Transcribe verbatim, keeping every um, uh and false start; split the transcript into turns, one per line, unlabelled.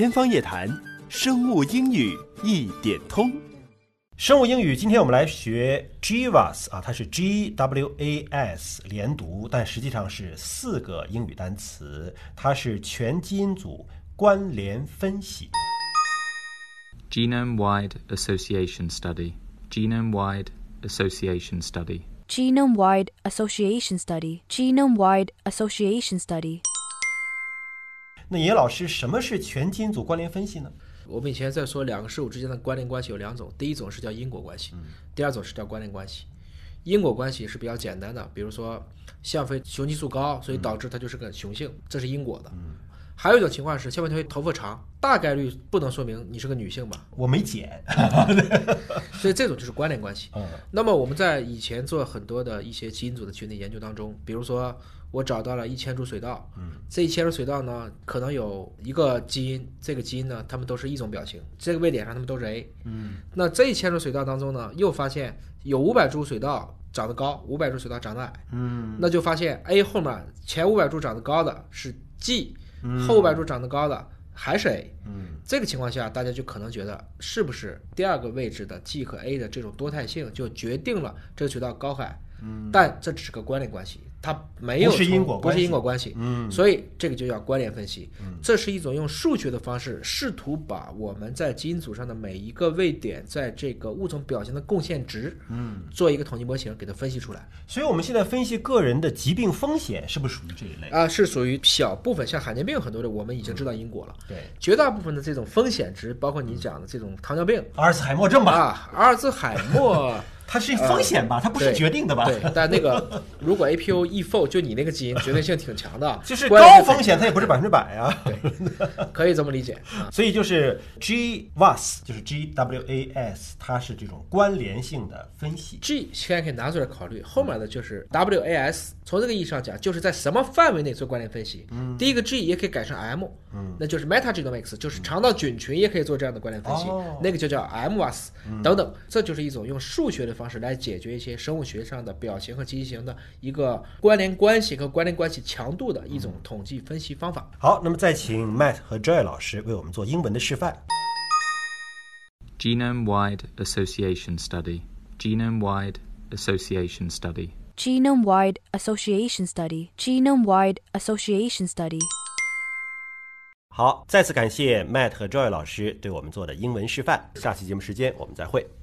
天方夜谭，生物英语一点通。
生物英语，今天我们来学 G W A S 啊，它是 G W A S 连读，但实际上是四个英语单词，它是全基因组关联分析。
Genome-wide association study. Genome-wide association study.
Genome-wide association study. Genome-wide association study.
那野老师，什么是全基因组关联分析呢？
我们以前在说两个事物之间的关联关系有两种，第一种是叫因果关系，第二种是叫关联关系。因果关系是比较简单的，比如说像飞雄激素高，所以导致它就是个雄性，这是因果的。还有一种情况是像飞头发长，大概率不能说明你是个女性吧？
我没剪，
所以这种就是关联关系。
嗯，
那么我们在以前做很多的一些基因组的群体研究当中，比如说我找到了一千株水稻，嗯，这一千株水稻呢，可能有一个基因，这个基因呢，它们都是一种表情，这个位点上它们都是 A， 嗯，那这一千株水稻当中呢，又发现有五百株水稻长得高，五百株水稻长得矮，嗯，那就发现 A 后面前五百株长得高的是 G，嗯，后五百株长得高的还是 A， 嗯，这个情况下，大家就可能觉得是不是第二个位置的 G 和 A 的这种多态性就决定了这个水稻高矮，嗯，但这只是个关联关系。它没有
不是因果关系，
不是因果关系，嗯，所以这个就叫关联分析，嗯，这是一种用数学的方式试图把我们在基因组上的每一个位点在这个物种表现的贡献值，嗯，做一个统计模型给它分析出来。
所以我们现在分析个人的疾病风险是不是属于这一类
啊？是属于小部分，像罕见病很多的我们已经知道因果了，
嗯，对，
绝大部分的这种风险值，包括你讲的这种糖尿病、
阿尔茨海默症吧，
啊，阿尔兹海默。
它是风险吧，呃、它不是决定的吧？
对，对但那个如果 A P O E F O 就你那个基因绝对性挺强的，
就是高风险，它也不是百分之百啊。
对，可以这么理解。
啊、所以就是 G W A S， 就是 G W A S， 它是这种关联性的分析。
G 现在可以拿出来考虑，后面的就是 W A S。从这个意义上讲，就是在什么范围内做关联分析。嗯、第一个 G 也可以改成 M，嗯、那就是 Metagenomics， 就是肠道菌群也可以做这样的关联分析，哦、那个就叫 M W A S，嗯、等等。这就是一种用数学的方式来解决一些生物学上的表型和畸形的一个关联关系和关联关系强度的一种统计分析方法。
好，那么再请 Matt 和 Joy 老师为我们做英文的示范。
Genome-wide association study. Genome-wide association study.
Genome-wide association study. Genome-wide association study.
好，再次感谢 Matt 和 Joy 老师对我们做的英文示范。下期节目时间我们再会。